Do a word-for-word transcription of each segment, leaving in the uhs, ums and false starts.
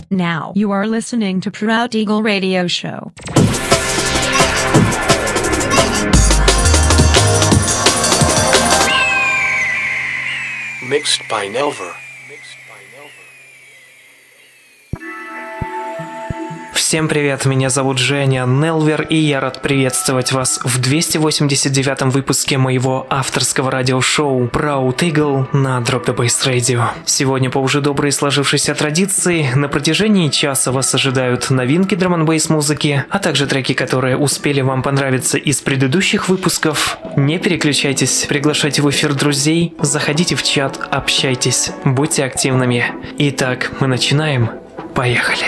Now you are listening to Proud Eagle Radio Show. Mixed by Nelver. Всем привет, меня зовут Женя Нелвер, и я рад приветствовать вас в двести восемьдесят девятом выпуске моего авторского радиошоу Proud Eagle на Drop the Bass Radio. Сегодня по уже доброй сложившейся традиции на протяжении часа вас ожидают новинки драм-н-бейс музыки, а также треки, которые успели вам понравиться из предыдущих выпусков. Не переключайтесь, приглашайте в эфир друзей, заходите в чат, общайтесь, будьте активными. Итак, мы начинаем. Поехали!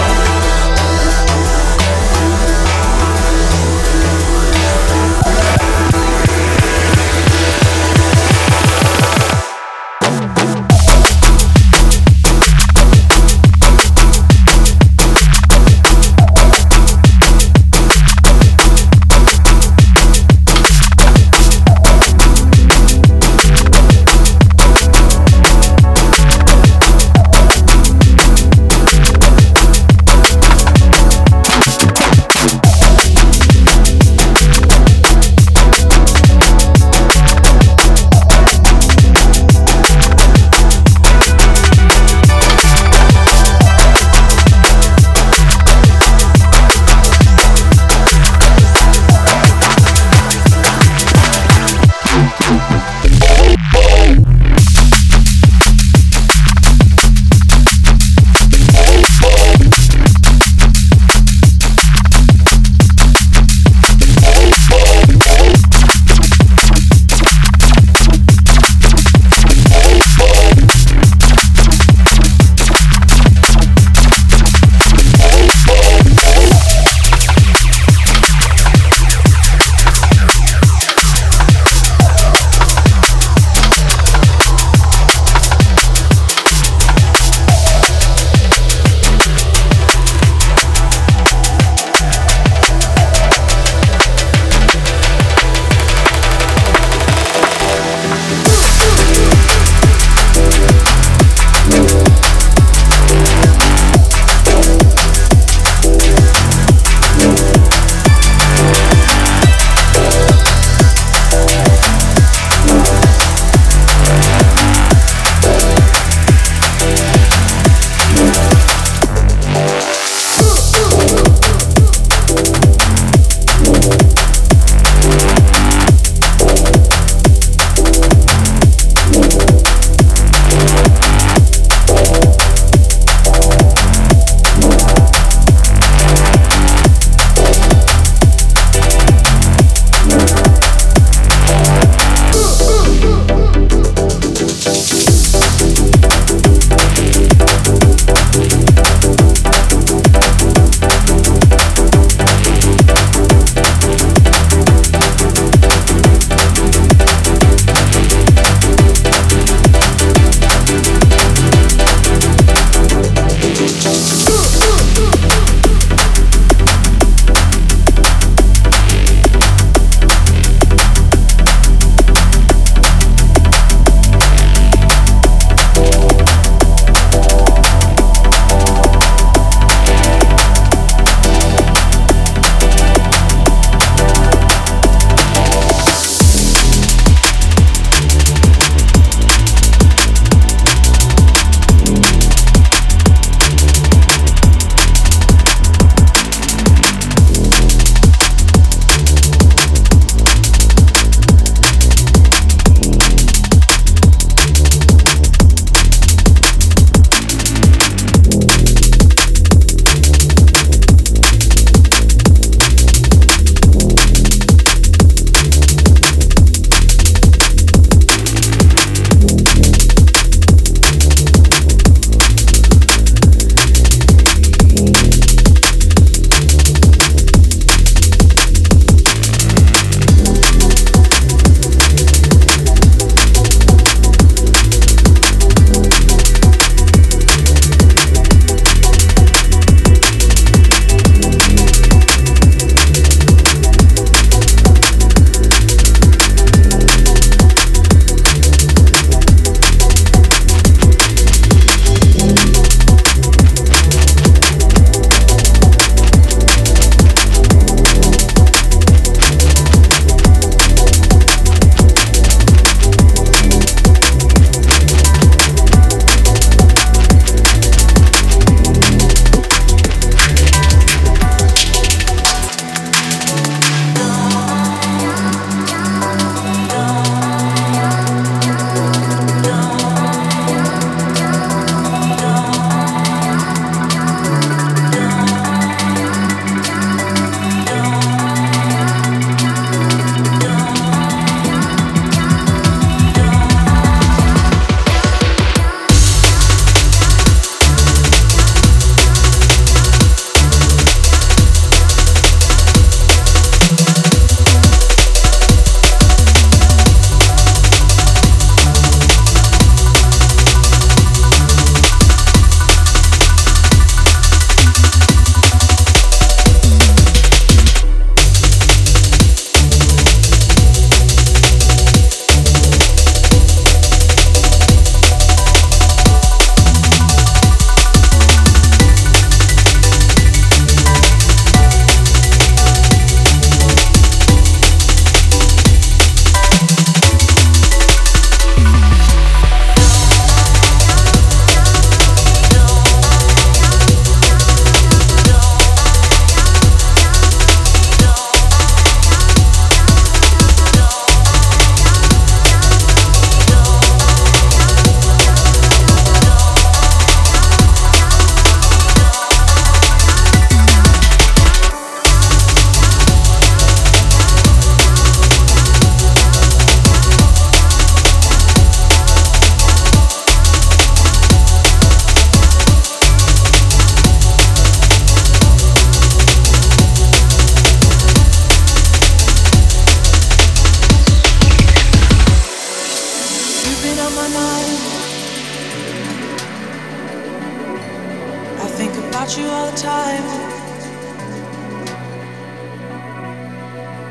We'll be right back.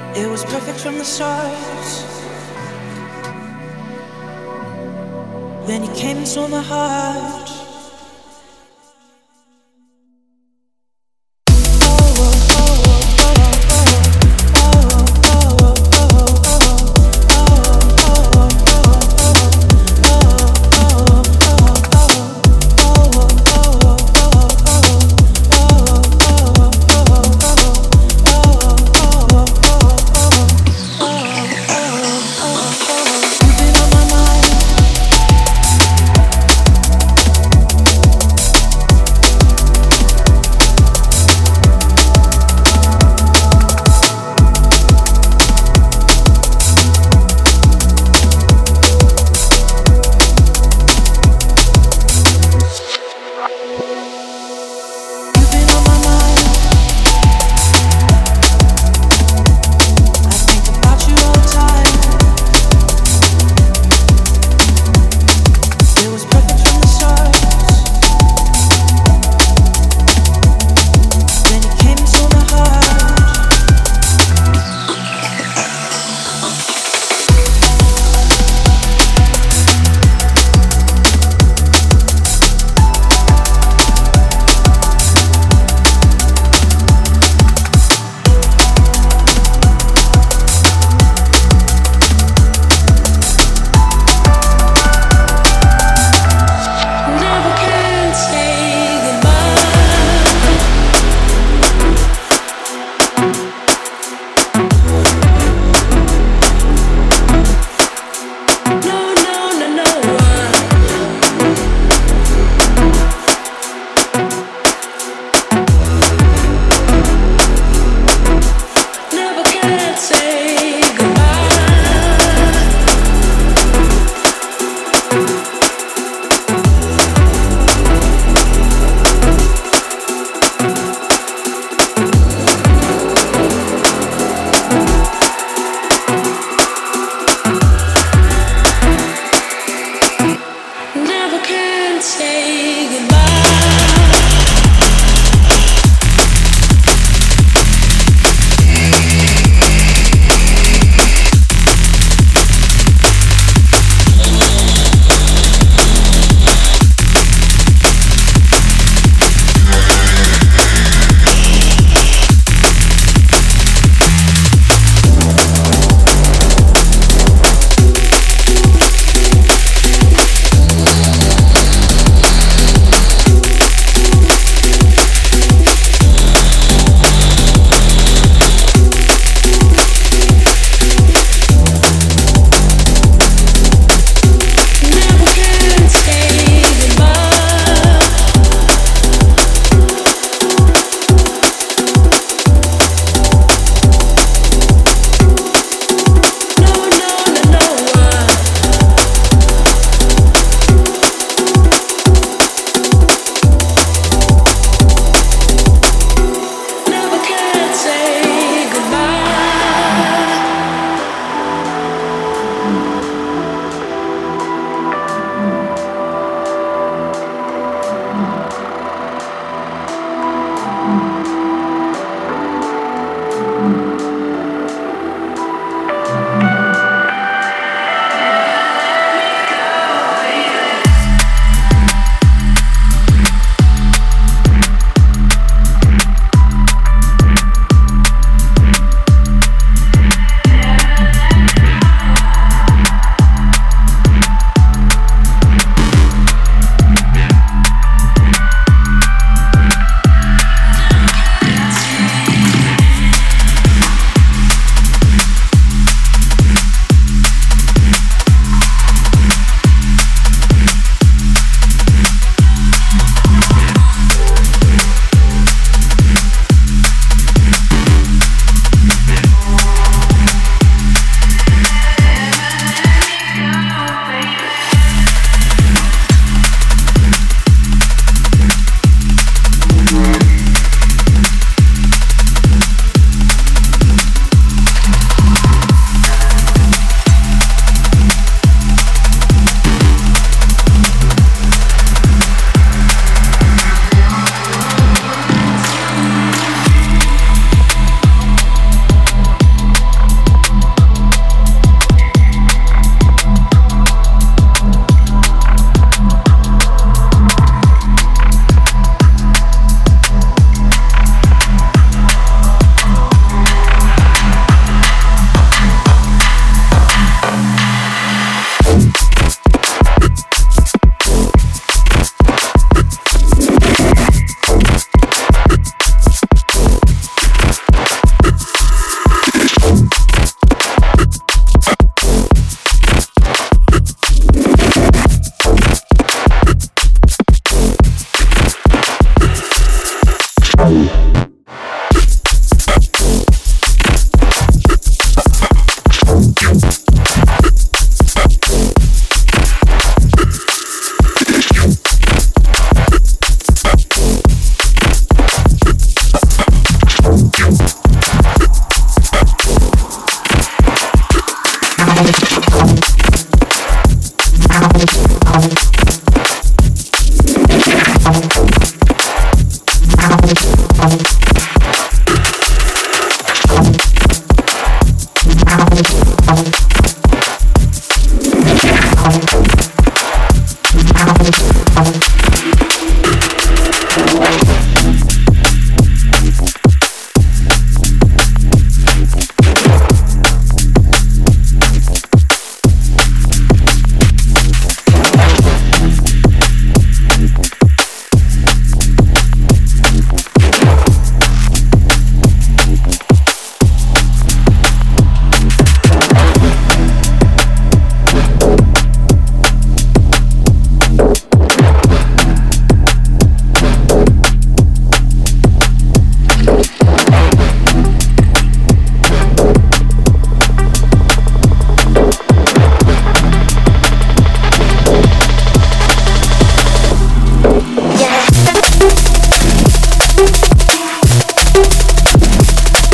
It was perfect from the start. Then you came and stole my heart.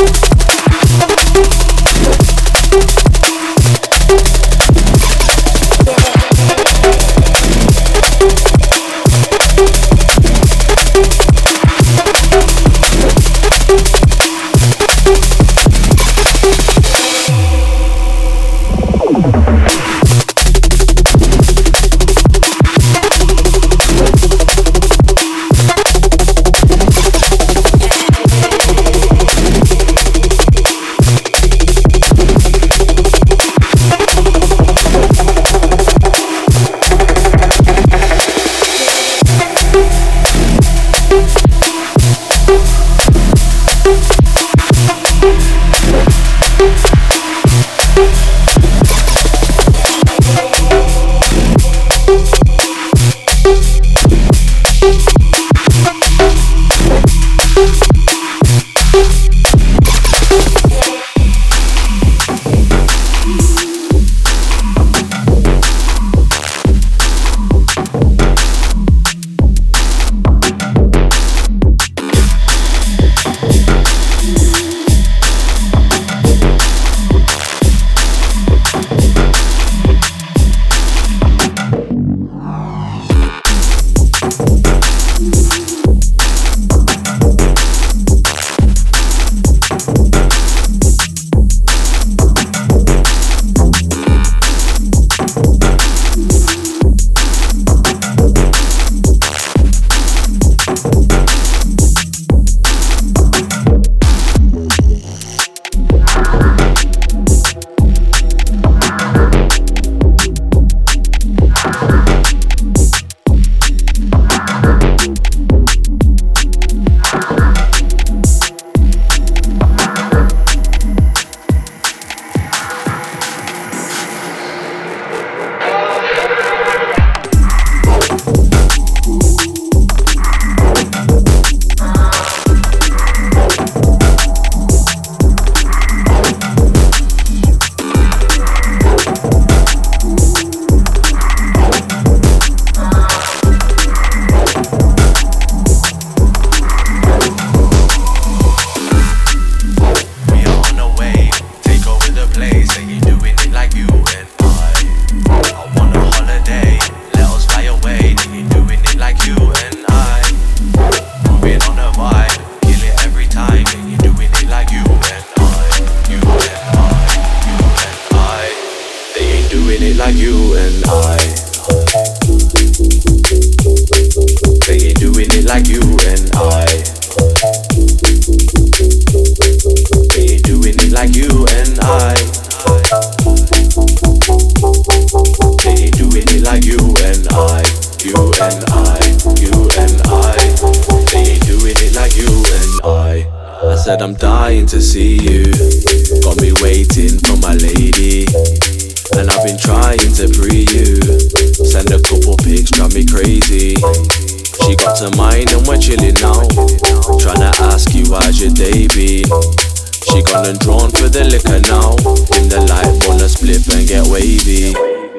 said I'm dying to see you. Got me waiting for my lady, and I've been trying to free you. Send a couple pics, drive me crazy. She got to mine and we're chilling now. Tryna ask you how's your day been. She gone and drawn for the liquor now. Dim the light, wanna split and get wavy.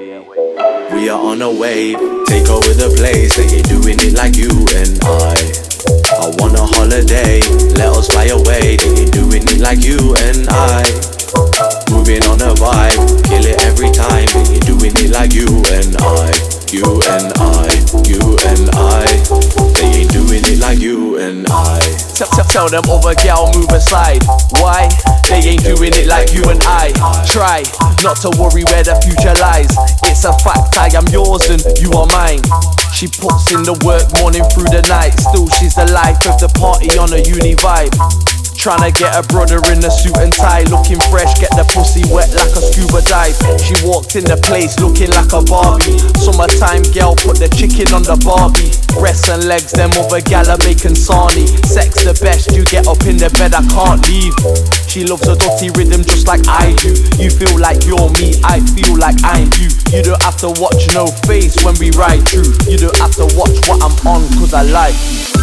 We are on a wave, take over the place. They ain't doing it like you and I. I want a holiday, let us fly away. They ain't doing it like you and I. Moving on a vibe, kill it every time. They ain't doing it like you and I. You and I, you and I. They ain't doing it like you and I. Tell, tell, tell them other gal move aside. Why? They ain't doing it like you and I. Try not to worry where the future lies. It's a fact, I am yours and you are mine. She puts in the work morning through the night. Still she's the life of the party on a uni vibe. Tryna get a brother in a suit and tie, looking fresh, get the pussy wet like a scuba dive. She walked in the place looking like a Barbie. Summertime girl, put the chicken on the Barbie. Breasts and legs, them other gal are making sarnie. Sex the best, you get up in the bed, I can't leave. She loves a dirty rhythm just like I do. You feel like you're me, I feel like I'm you. You don't have to watch no face when we ride through. You don't have to watch what I'm on, cause I like you.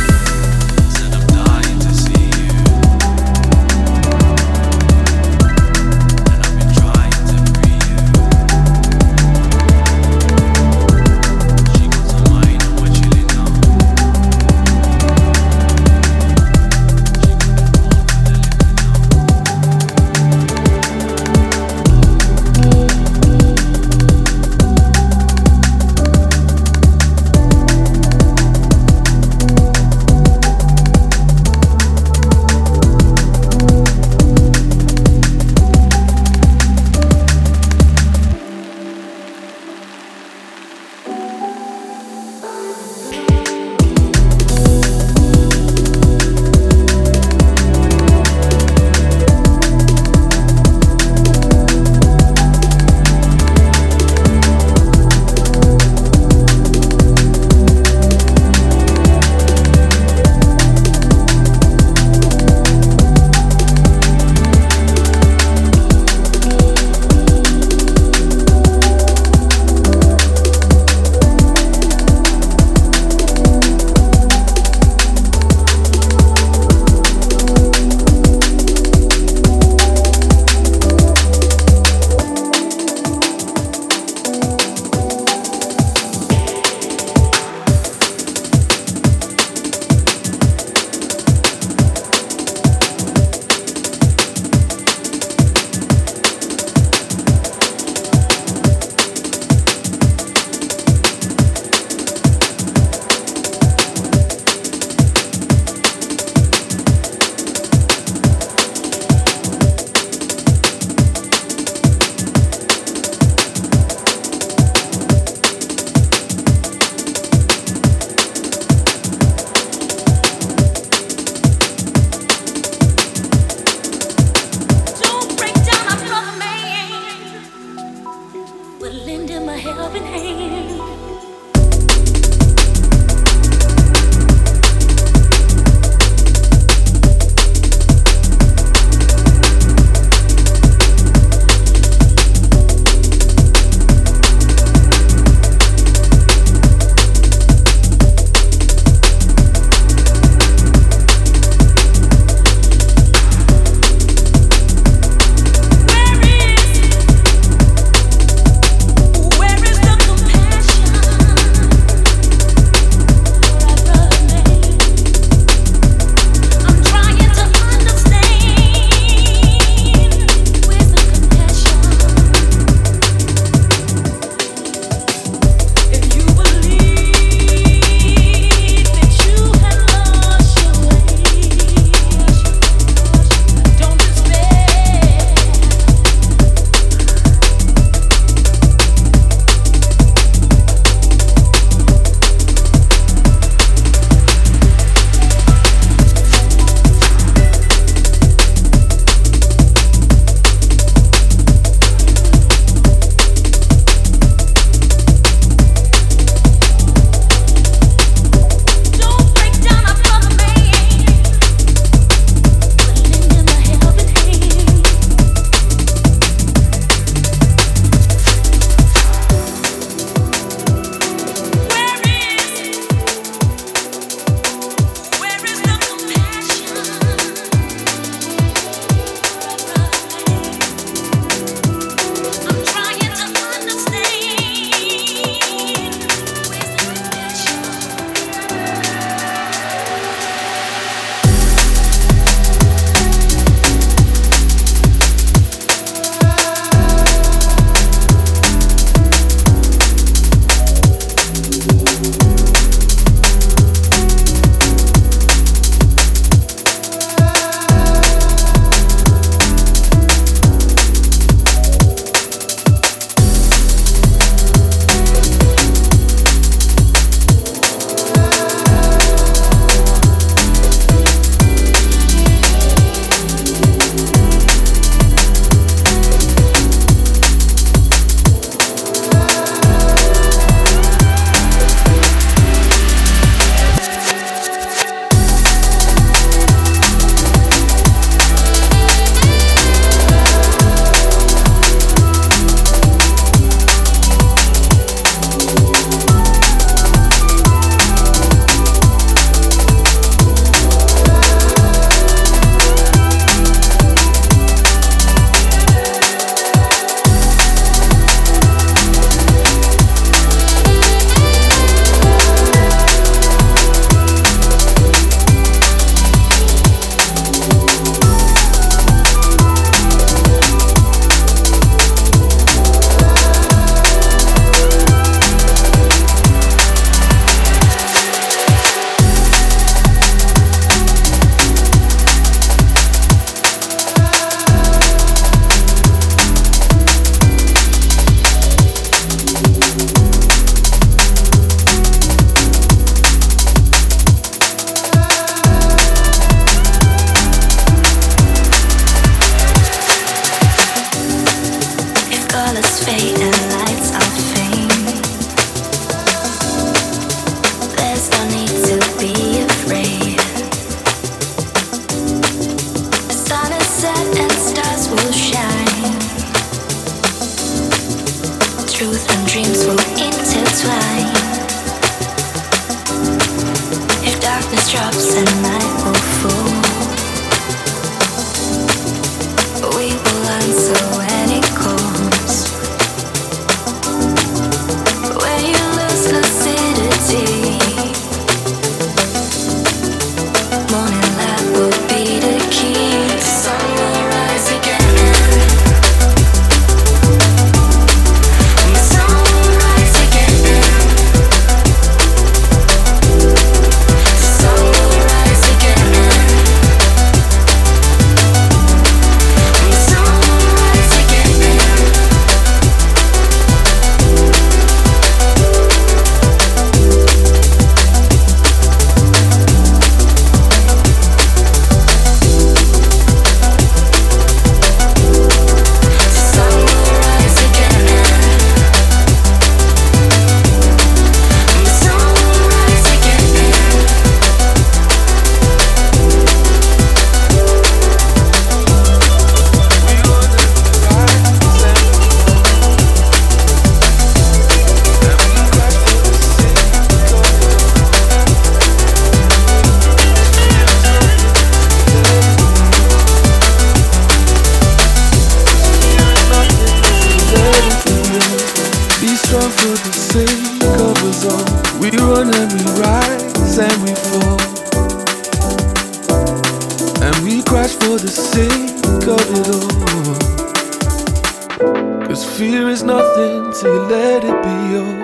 for the sake of it all. Cause fear is nothing till you let it be your.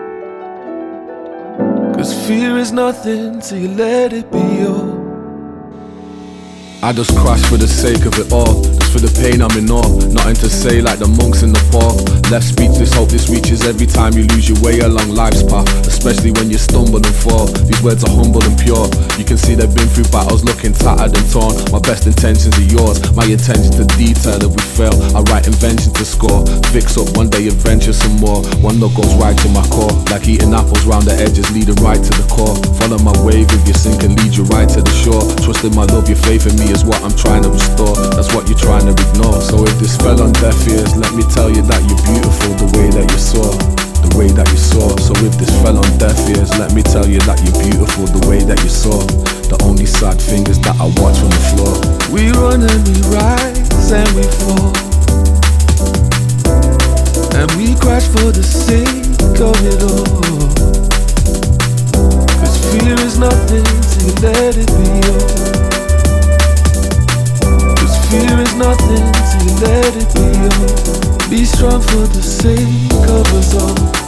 Cause fear is nothing till you let it be your. I just crash for the sake of it all. Just for the pain I'm in awe. Nothing to say like the monks in Nepal. Left speechless, hope this reaches every time you lose your way along life's path. Especially when you stumble and fall. These words are humble and pure. You can see they've been through battles looking tattered and torn. My best intentions are yours. My intention to detail if we fail. I write inventions to score. Fix up one day, adventure some more. One look goes right to my core. Like eating apples round the edges, leading right to the core. Follow my wave if you sink and lead you right to the shore. Trust in my love, your faith in me is what I'm trying to restore. That's what you're trying to ignore. So if this fell on deaf ears, let me tell you that you're beautiful the way that you saw. The way that you saw. So if this fell on deaf ears, let me tell you that you're beautiful the way that you saw. The only sad thing is that I watch from the floor. We run and we rise and we fall. And we crash for the sake of it all. Cause fear is nothing till you let it be yours. Fear is nothing till you let it be yours. Be strong for the sake of us all.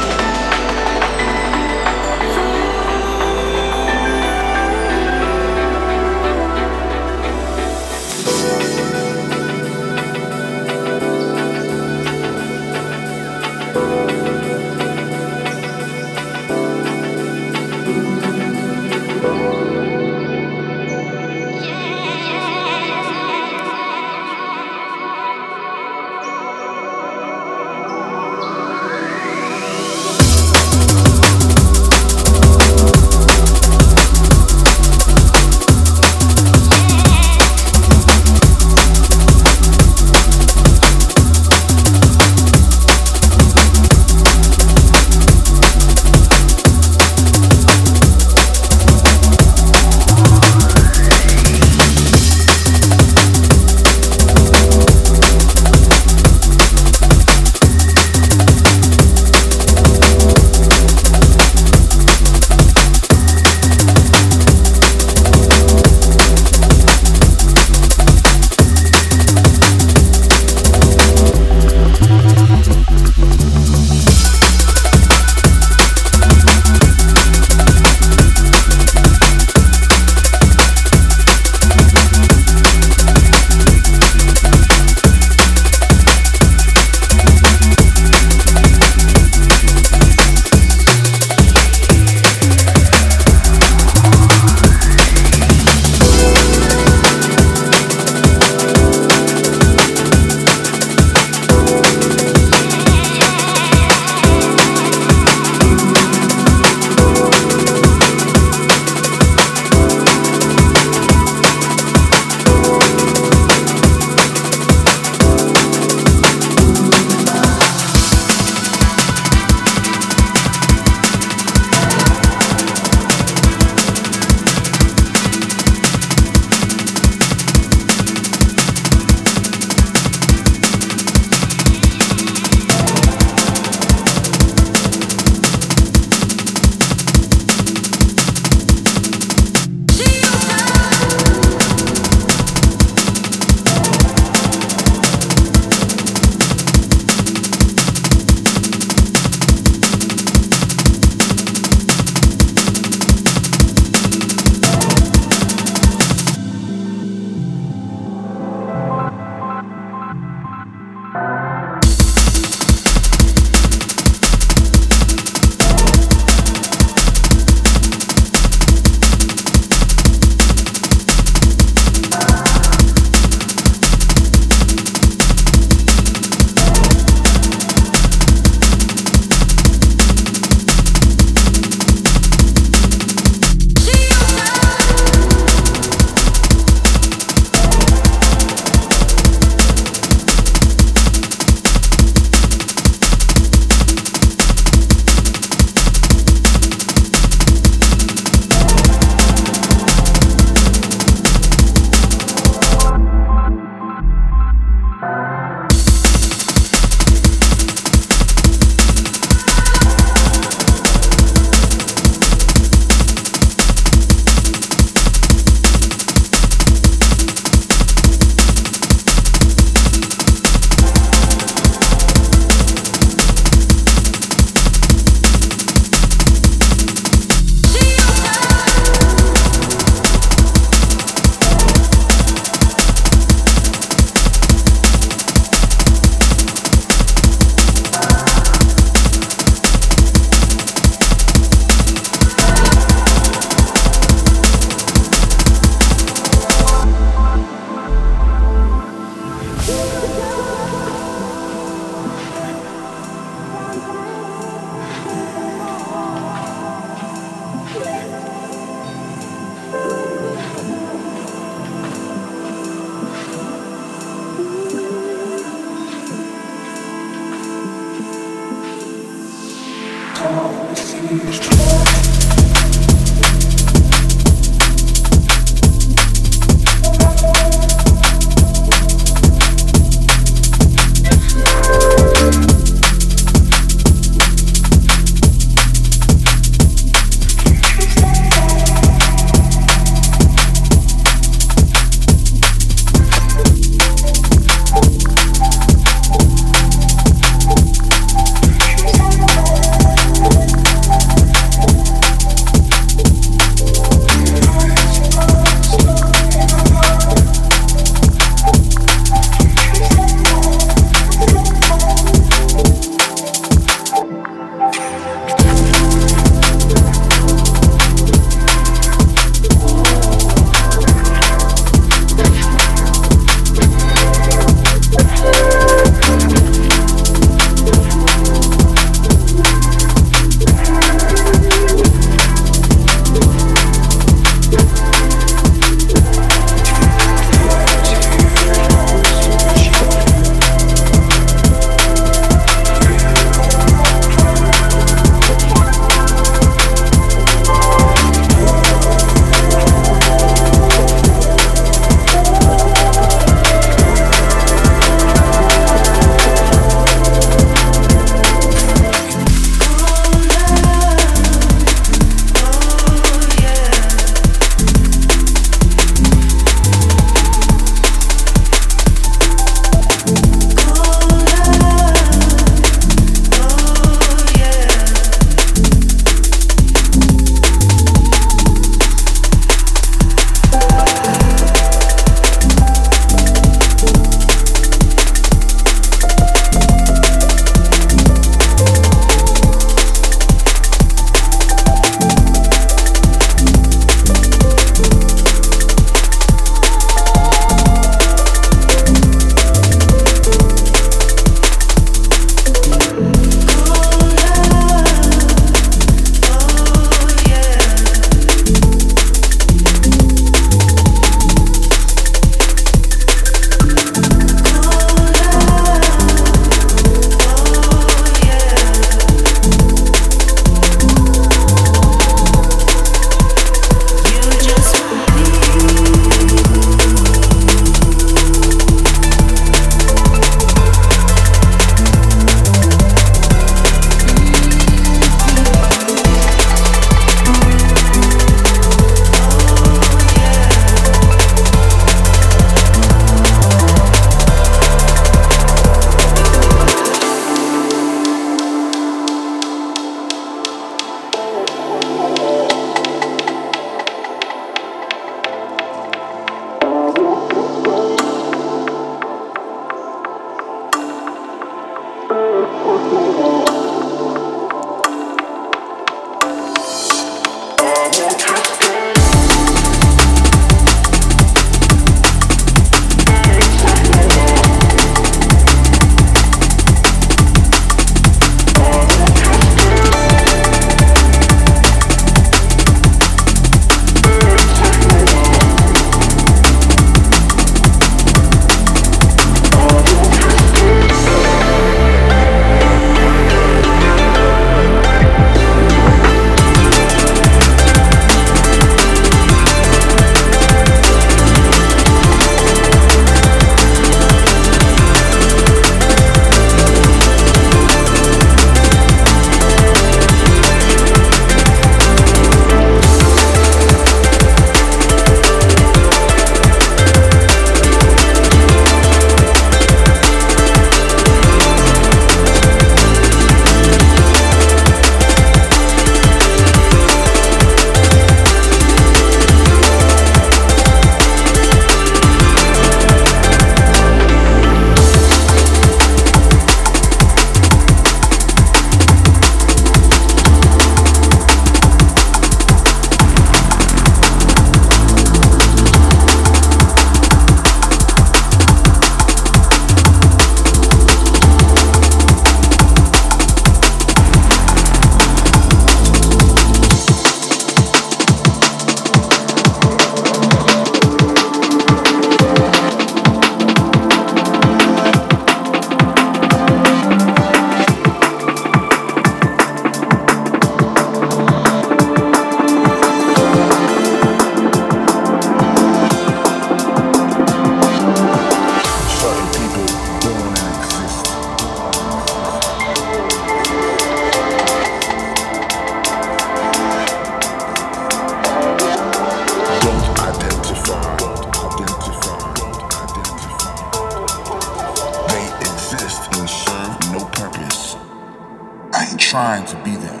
trying to be that.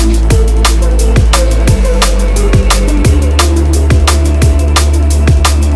Trying to be that.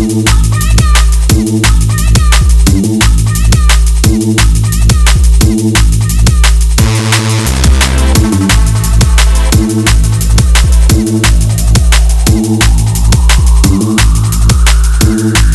Ooh.